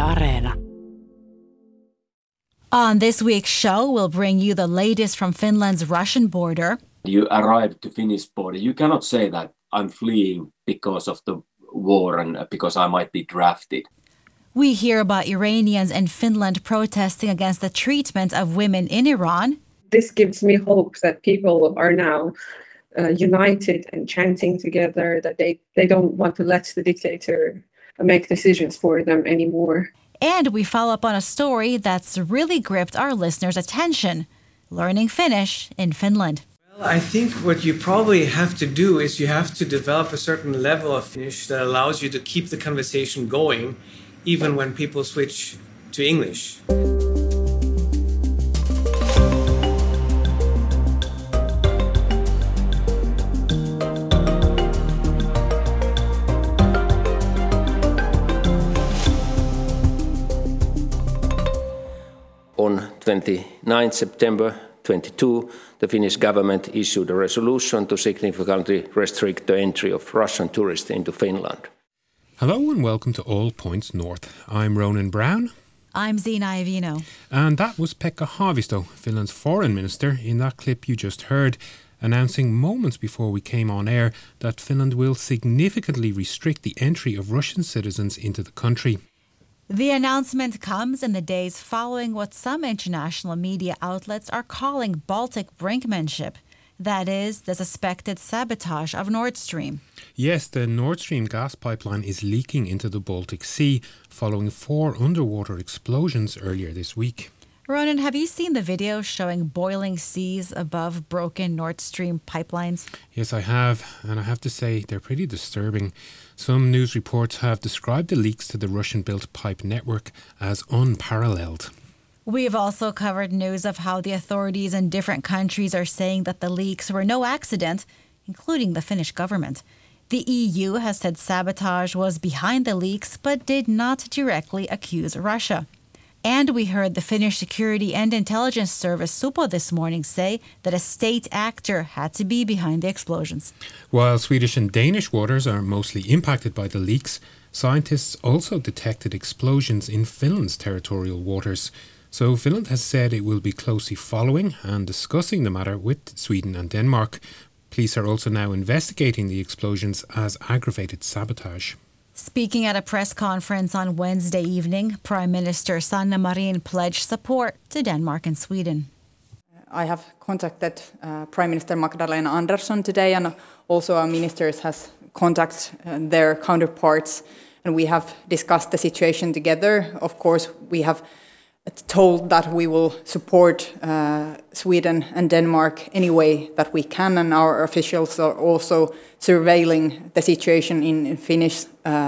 Areena. On this week's show, we'll bring you the latest from Finland's Russian border. You arrive to Finnish border. You cannot say that I'm fleeing because of the war and because I might be drafted. We hear about Iranians in Finland protesting against the treatment of women in Iran. This gives me hope that people are now united and chanting together, that they don't want to let the dictator make decisions for them anymore. And we follow up on a story that's really gripped our listeners' attention, learning Finnish in Finland. Well, I think what you probably have to do is you have to develop a certain level of Finnish that allows you to keep the conversation going, even when people switch to English. On 29 September 2022, the Finnish government issued a resolution to significantly restrict the entry of Russian tourists into Finland. Hello and welcome to All Points North. I'm Ronan Brown. I'm Zina Iovino. And that was Pekka Haavisto, Finland's foreign minister, in that clip you just heard, announcing moments before we came on air that Finland will significantly restrict the entry of Russian citizens into the country. The announcement comes in the days following what some international media outlets are calling Baltic brinkmanship. That is, the suspected sabotage of Nord Stream. Yes, the Nord Stream gas pipeline is leaking into the Baltic Sea following 4 underwater explosions earlier this week. Ronan, have you seen the video showing boiling seas above broken Nord Stream pipelines? Yes, I have, and I have to say they're pretty disturbing. Some news reports have described the leaks to the Russian-built pipe network as unparalleled. We've also covered news of how the authorities in different countries are saying that the leaks were no accident, including the Finnish government. The EU has said sabotage was behind the leaks, but did not directly accuse Russia. And we heard the Finnish Security and Intelligence Service, Supo, this morning say that a state actor had to be behind the explosions. While Swedish and Danish waters are mostly impacted by the leaks, scientists also detected explosions in Finland's territorial waters. So Finland has said it will be closely following and discussing the matter with Sweden and Denmark. Police are also now investigating the explosions as aggravated sabotage. Speaking at a press conference on Wednesday evening, Prime Minister Sanna Marin pledged support to Denmark and Sweden. I have contacted Prime Minister Magdalena Andersson today, and also our ministers has contacted their counterparts, and we have discussed the situation together. Of course, we have told that we will support Sweden and Denmark any way that we can, and our officials are also surveilling the situation in Finnish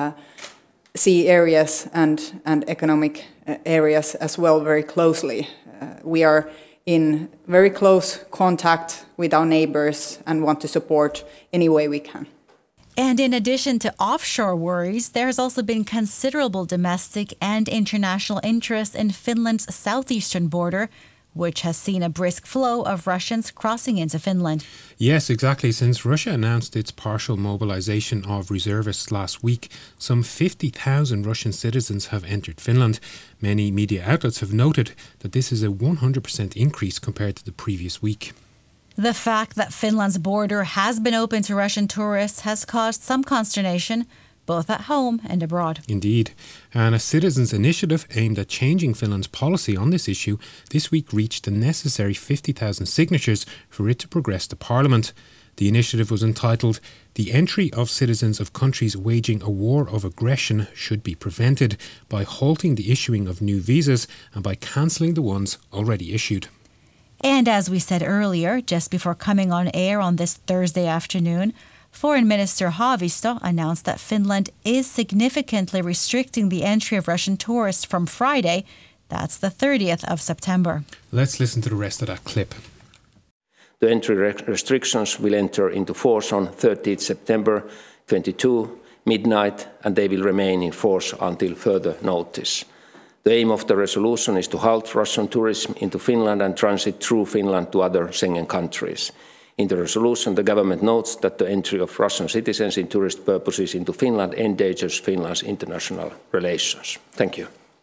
sea areas and economic areas as well very closely. We are in very close contact with our neighbors and want to support any way we can. And in addition to offshore worries, there has also been considerable domestic and international interest in Finland's southeastern border, which has seen a brisk flow of Russians crossing into Finland. Yes, exactly. Since Russia announced its partial mobilization of reservists last week, some 50,000 Russian citizens have entered Finland. Many media outlets have noted that this is a 100% increase compared to the previous week. The fact that Finland's border has been open to Russian tourists has caused some consternation, both at home and abroad. Indeed. And a citizens' initiative aimed at changing Finland's policy on this issue this week reached the necessary 50,000 signatures for it to progress to Parliament. The initiative was entitled, "The entry of citizens of countries waging a war of aggression should be prevented by halting the issuing of new visas and by cancelling the ones already issued." And as we said earlier, just before coming on air on this Thursday afternoon, Foreign Minister Haavisto announced that Finland is significantly restricting the entry of Russian tourists from Friday. That's the 30th of September. Let's listen to the rest of that clip. The entry restrictions will enter into force on 30th September 22, midnight, and they will remain in force until further notice. The aim of the resolution is to halt Russian tourism into Finland and transit through Finland to other Schengen countries. In the resolution, the government notes that the entry of Russian citizens in tourist purposes into Finland endangers Finland's international relations. Thank you.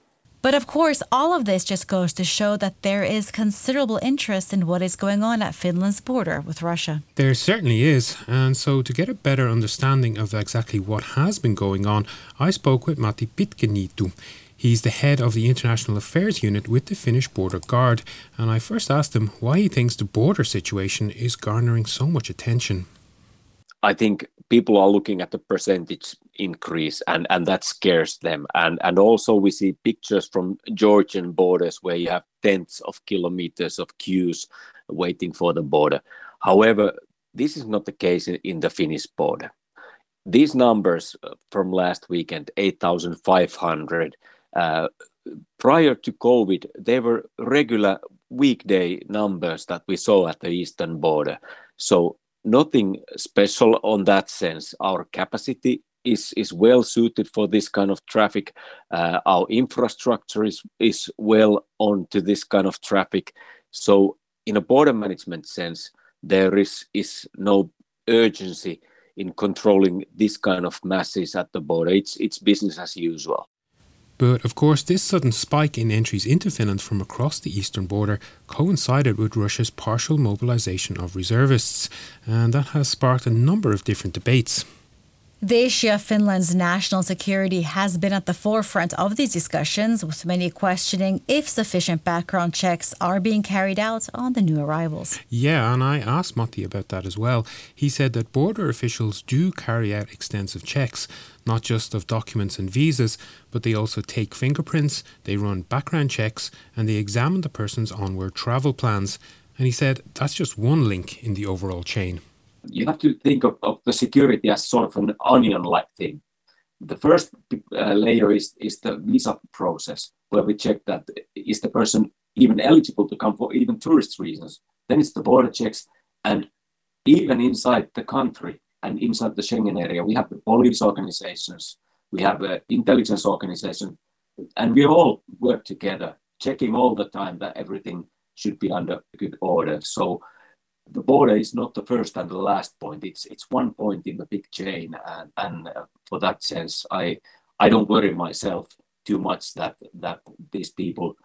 But of course, all of this just goes to show that there is considerable interest in what is going on at Finland's border with Russia. There certainly is. And so to get a better understanding of exactly what has been going on, I spoke with Matti Pitkaniitty. He's the head of the International Affairs Unit with the Finnish Border Guard. And I first asked him why he thinks the border situation is garnering so much attention. I think people are looking at the percentage increase and that scares them. And also we see pictures from Georgian borders where you have tens of kilometers of queues waiting for the border. However, this is not the case in the Finnish border. These numbers from last weekend, 8,500, prior to COVID, they were regular weekday numbers that we saw at the eastern border. So nothing special on that sense. Our capacity is well suited for this kind of traffic. Our infrastructure is well on to this kind of traffic. So in a border management sense, there is no urgency in controlling this kind of masses at the border. It's business as usual. But of course, this sudden spike in entries into Finland from across the eastern border coincided with Russia's partial mobilization of reservists, and that has sparked a number of different debates. The issue of Finland's national security has been at the forefront of these discussions, with many questioning if sufficient background checks are being carried out on the new arrivals. Yeah, and I asked Matti about that as well. He said that border officials do carry out extensive checks, not just of documents and visas, but they also take fingerprints, they run background checks, and they examine the person's onward travel plans. And he said that's just one link in the overall chain. You have to think of the security as sort of an onion-like thing. The first layer is the visa process, where we check that is the person even eligible to come for even tourist reasons. Then it's the border checks, and even inside the country and inside the Schengen area, we have the police organizations, we have the intelligence organization, and we all work together, checking all the time that everything should be under good order. So the border is not the first and the last point. It's one point in the big chain, and for that sense, I don't worry myself too much that these people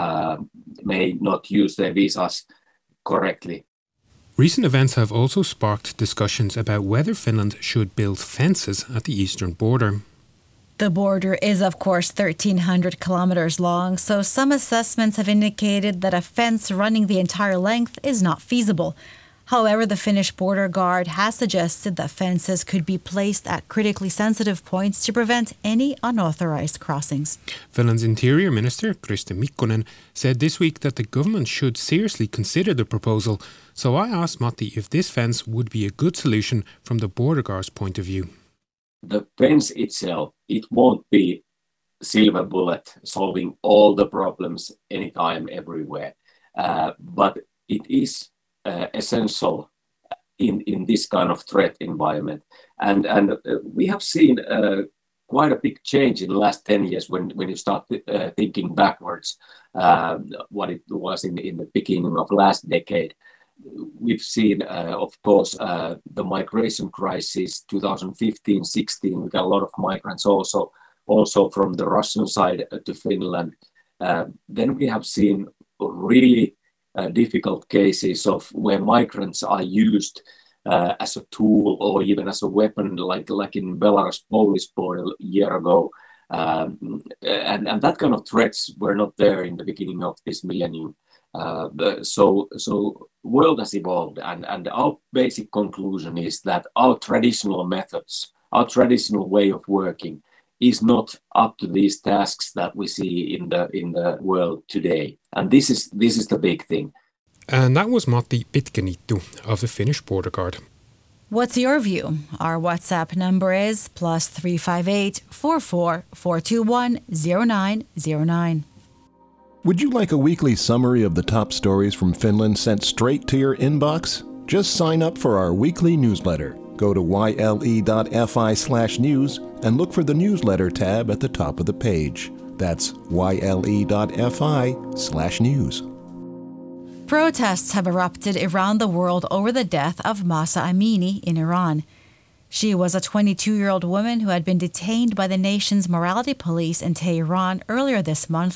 may not use their visas correctly. Recent events have also sparked discussions about whether Finland should build fences at the eastern border. The border is, of course, 1,300 kilometers long, so some assessments have indicated that a fence running the entire length is not feasible. However, the Finnish Border Guard has suggested that fences could be placed at critically sensitive points to prevent any unauthorized crossings. Finland's Interior Minister, Kriste Mikkonen, said this week that the government should seriously consider the proposal. So I asked Matti if this fence would be a good solution from the Border Guard's point of view. The fence itself, it won't be silver bullet solving all the problems anytime, everywhere. But it is essential in this kind of threat environment. And we have seen quite a big change in the last 10 years when you start thinking backwards, what it was in the beginning of last decade. We've seen, of course, the migration crisis, 2015-16. We got a lot of migrants also from the Russian side to Finland. Then we have seen really difficult cases of where migrants are used as a tool or even as a weapon, like in Belarus-Polish border a year ago. And that kind of threats were not there in the beginning of this millennium. So world has evolved, and our basic conclusion is that our traditional methods, our traditional way of working, is not up to these tasks that we see in the world today, and this is the big thing. And that was Matti Pitkaniitty of the Finnish Border Guard. What's your view? Our WhatsApp number is +358 44 421 0909. Would you like a weekly summary of the top stories from Finland sent straight to your inbox? Just sign up for our weekly newsletter. Go to yle.fi/news and look for the newsletter tab at the top of the page. That's yle.fi/news. Protests have erupted around the world over the death of Mahsa Amini in Iran. She was a 22-year-old woman who had been detained by the nation's morality police in Tehran earlier this month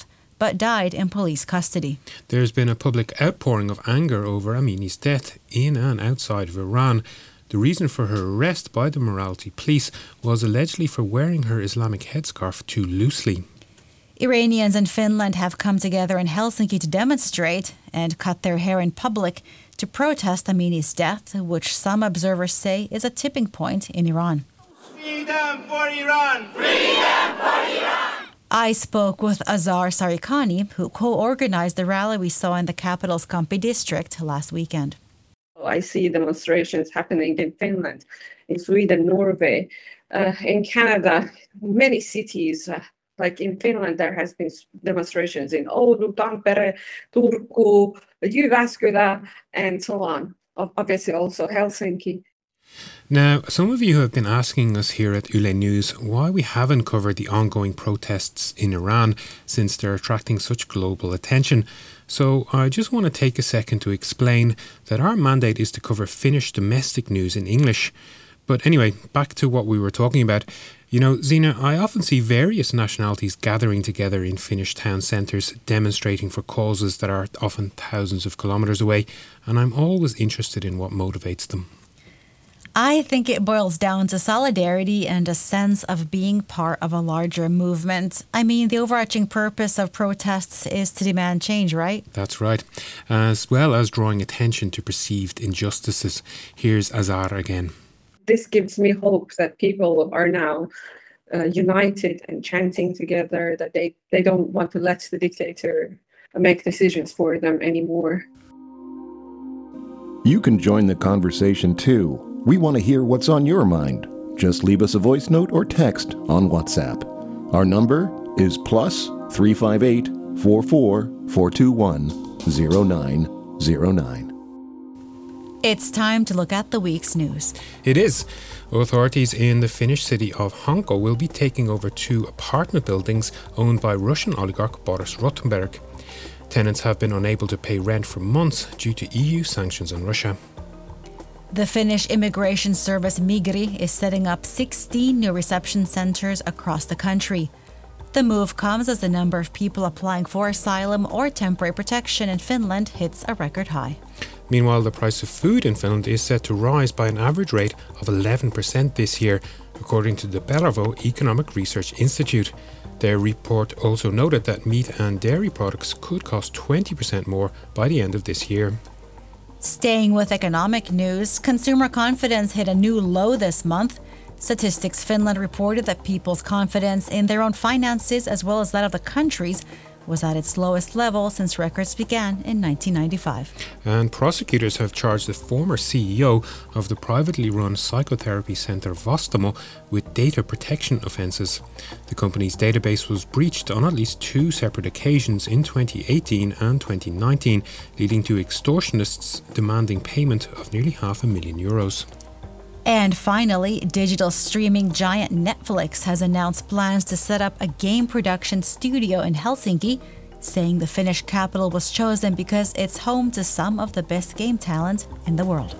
but died in police custody. There's been a public outpouring of anger over Amini's death in and outside of Iran. The reason for her arrest by the morality police was allegedly for wearing her Islamic headscarf too loosely. Iranians in Finland have come together in Helsinki to demonstrate and cut their hair in public to protest Amini's death, which some observers say is a tipping point in Iran. Freedom for Iran! Freedom for Iran! I spoke with Azar Sarikani, who co-organized the rally we saw in the capital's Kamppi district last weekend. I see demonstrations happening in Finland, in Sweden, Norway, in Canada, many cities. Like in Finland, there has been demonstrations in Oulu, Tampere, Turku, Jyväskylä, and so on. Obviously also Helsinki. Now, some of you have been asking us here at Yle News why we haven't covered the ongoing protests in Iran since they're attracting such global attention. So I just want to take a second to explain that our mandate is to cover Finnish domestic news in English. But anyway, back to what we were talking about. You know, Zina, I often see various nationalities gathering together in Finnish town centres demonstrating for causes that are often thousands of kilometres away, and I'm always interested in what motivates them. I think it boils down to solidarity and a sense of being part of a larger movement. I mean, the overarching purpose of protests is to demand change, right? That's right. As well as drawing attention to perceived injustices. Here's Azar again. This gives me hope that people are now united and chanting together, that they don't want to let the dictator make decisions for them anymore. You can join the conversation too. We want to hear what's on your mind. Just leave us a voice note or text on WhatsApp. Our number is +358 44 421 0909. It's time to look at the week's news. It is. Authorities in the Finnish city of Hanko will be taking over 2 apartment buildings owned by Russian oligarch Boris Rothenberg. Tenants have been unable to pay rent for months due to EU sanctions on Russia. The Finnish immigration service Migri is setting up 16 new reception centres across the country. The move comes as the number of people applying for asylum or temporary protection in Finland hits a record high. Meanwhile, the price of food in Finland is set to rise by an average rate of 11% this year, according to the Belavo Economic Research Institute. Their report also noted that meat and dairy products could cost 20% more by the end of this year. Staying with economic news, consumer confidence hit a new low this month. Statistics Finland reported that people's confidence in their own finances, as well as that of the country's, was at its lowest level since records began in 1995. And prosecutors have charged the former CEO of the privately run psychotherapy centre Vastaamo with data protection offences. The company's database was breached on at least 2 separate occasions in 2018 and 2019, leading to extortionists demanding payment of nearly €500,000. And finally, digital streaming giant Netflix has announced plans to set up a game production studio in Helsinki, saying the Finnish capital was chosen because it's home to some of the best game talent in the world.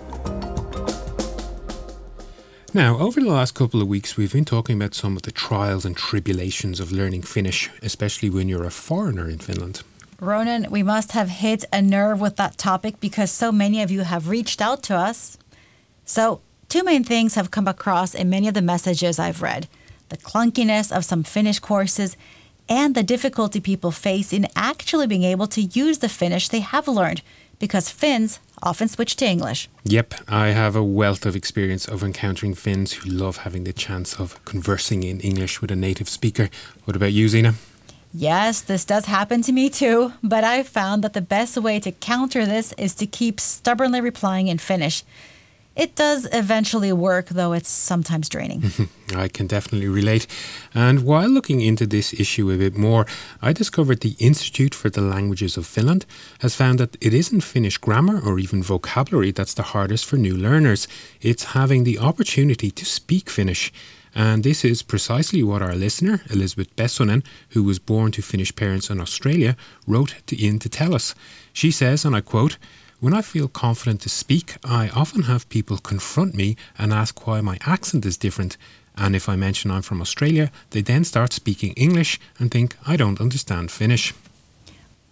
Now, over the last couple of weeks, we've been talking about some of the trials and tribulations of learning Finnish, especially when you're a foreigner in Finland. Ronan, we must have hit a nerve with that topic because so many of you have reached out to us. So, 2 main things have come across in many of the messages I've read: the clunkiness of some Finnish courses and the difficulty people face in actually being able to use the Finnish they have learned, because Finns often switch to English. Yep, I have a wealth of experience of encountering Finns who love having the chance of conversing in English with a native speaker. What about you, Zina? Yes, this does happen to me too, but I've found that the best way to counter this is to keep stubbornly replying in Finnish. It does eventually work, though it's sometimes draining. I can definitely relate. And while looking into this issue a bit more, I discovered the Institute for the Languages of Finland has found that it isn't Finnish grammar or even vocabulary that's the hardest for new learners. It's having the opportunity to speak Finnish. And this is precisely what our listener, Elizabeth Bessonen, who was born to Finnish parents in Australia, wrote in to tell us. She says, and I quote, "When I feel confident to speak, I often have people confront me and ask why my accent is different. And if I mention I'm from Australia, they then start speaking English and think I don't understand Finnish."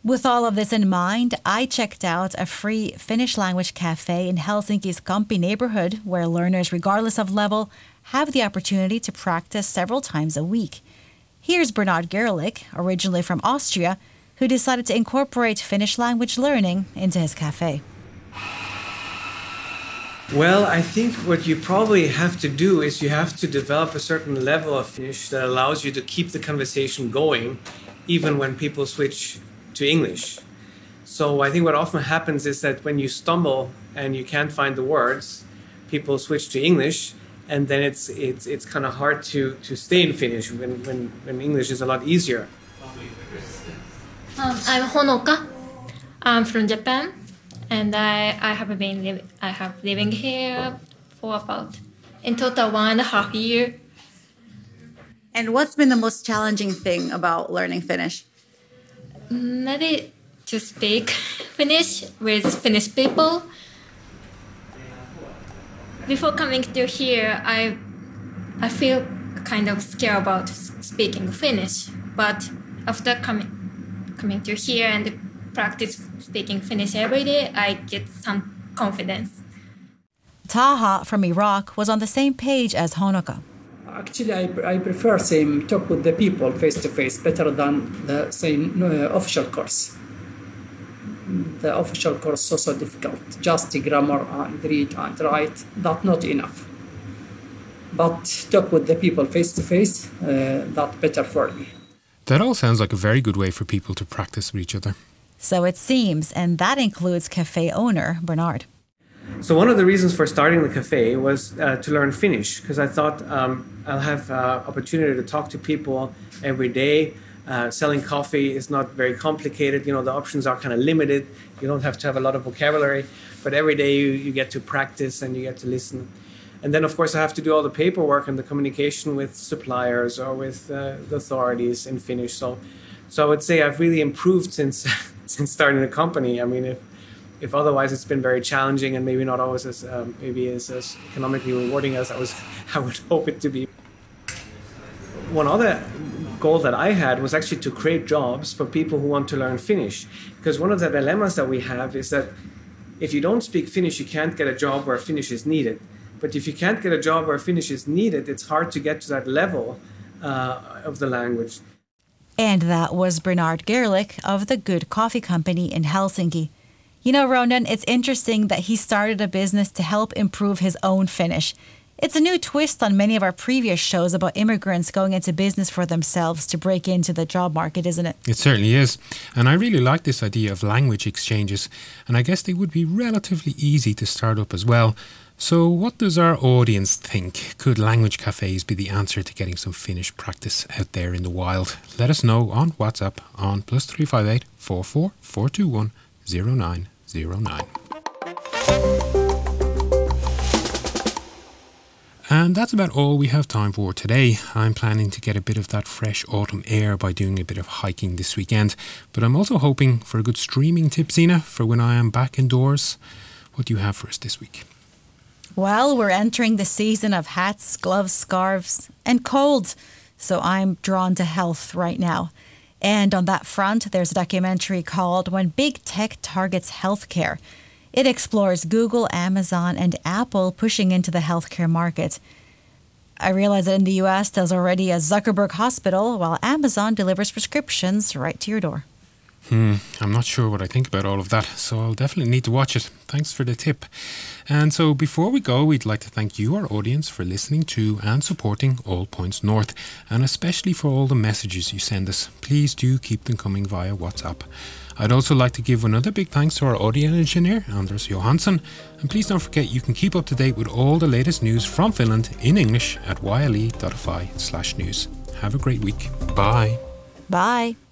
With all of this in mind, I checked out a free Finnish language cafe in Helsinki's Kamppi neighborhood where learners, regardless of level, have the opportunity to practice several times a week. Here's Bernard Gerlich, originally from Austria, who decided to incorporate Finnish language learning into his cafe. Well, I think what you probably have to do is you have to develop a certain level of Finnish that allows you to keep the conversation going, even when people switch to English. So I think what often happens is that when you stumble and you can't find the words, people switch to English, and then it's kind of hard to stay in Finnish when English is a lot easier. I'm Honoka. I'm from Japan, and I have living here for about in total 1.5 years. And what's been the most challenging thing about learning Finnish? Maybe to speak Finnish with Finnish people. Before coming to here, I feel kind of scared about speaking Finnish, but after coming to here and practice speaking Finnish every day, I get some confidence. Taha from Iraq was on the same page as Honoka. Actually, I prefer same talk with the people face to face better than the same official course. The official course is so difficult. Just the grammar and read and write, that's not enough. But talk with the people face to face, that's better for me. That all sounds like a very good way for people to practice with each other. So it seems, and that includes cafe owner Bernard. So one of the reasons for starting the cafe was to learn Finnish, because I thought I'll have opportunity to talk to people every day. Selling coffee is not very complicated. You know, the options are kind of limited. You don't have to have a lot of vocabulary, but every day you get to practice and you get to listen. And then, of course, I have to do all the paperwork and the communication with suppliers or with the authorities in Finnish. So I would say I've really improved since starting the company. I mean, if otherwise it's been very challenging and maybe not always as as economically rewarding as I would hope it to be. One other goal that I had was actually to create jobs for people who want to learn Finnish. Because one of the dilemmas that we have is that if you don't speak Finnish, you can't get a job where Finnish is needed. But if you can't get a job where Finnish is needed, it's hard to get to that level of the language. And that was Bernard Gerlich of the Good Coffee Company in Helsinki. You know, Ronan, it's interesting that he started a business to help improve his own Finnish. It's a new twist on many of our previous shows about immigrants going into business for themselves to break into the job market, isn't it? It certainly is. And I really like this idea of language exchanges. And I guess they would be relatively easy to start up as well. So what does our audience think? Could language cafes be the answer to getting some Finnish practice out there in the wild? Let us know on WhatsApp on +358 44 421 0909. And that's about all we have time for today. I'm planning to get a bit of that fresh autumn air by doing a bit of hiking this weekend. But I'm also hoping for a good streaming tip, Zina, for when I am back indoors. What do you have for us this week? Well, we're entering the season of hats, gloves, scarves, and colds. So I'm drawn to health right now. And on that front, there's a documentary called When Big Tech Targets Healthcare. It explores Google, Amazon, and Apple pushing into the healthcare market. I realize that in the US, there's already a Zuckerberg hospital, while Amazon delivers prescriptions right to your door. I'm not sure what I think about all of that, so I'll definitely need to watch it. Thanks for the tip. And so before we go, we'd like to thank you, our audience, for listening to and supporting All Points North, and especially for all the messages you send us. Please do keep them coming via WhatsApp. I'd also like to give another big thanks to our audio engineer, Anders Johansson. And please don't forget you can keep up to date with all the latest news from Finland in English at yle.fi/news. Have a great week. Bye. Bye.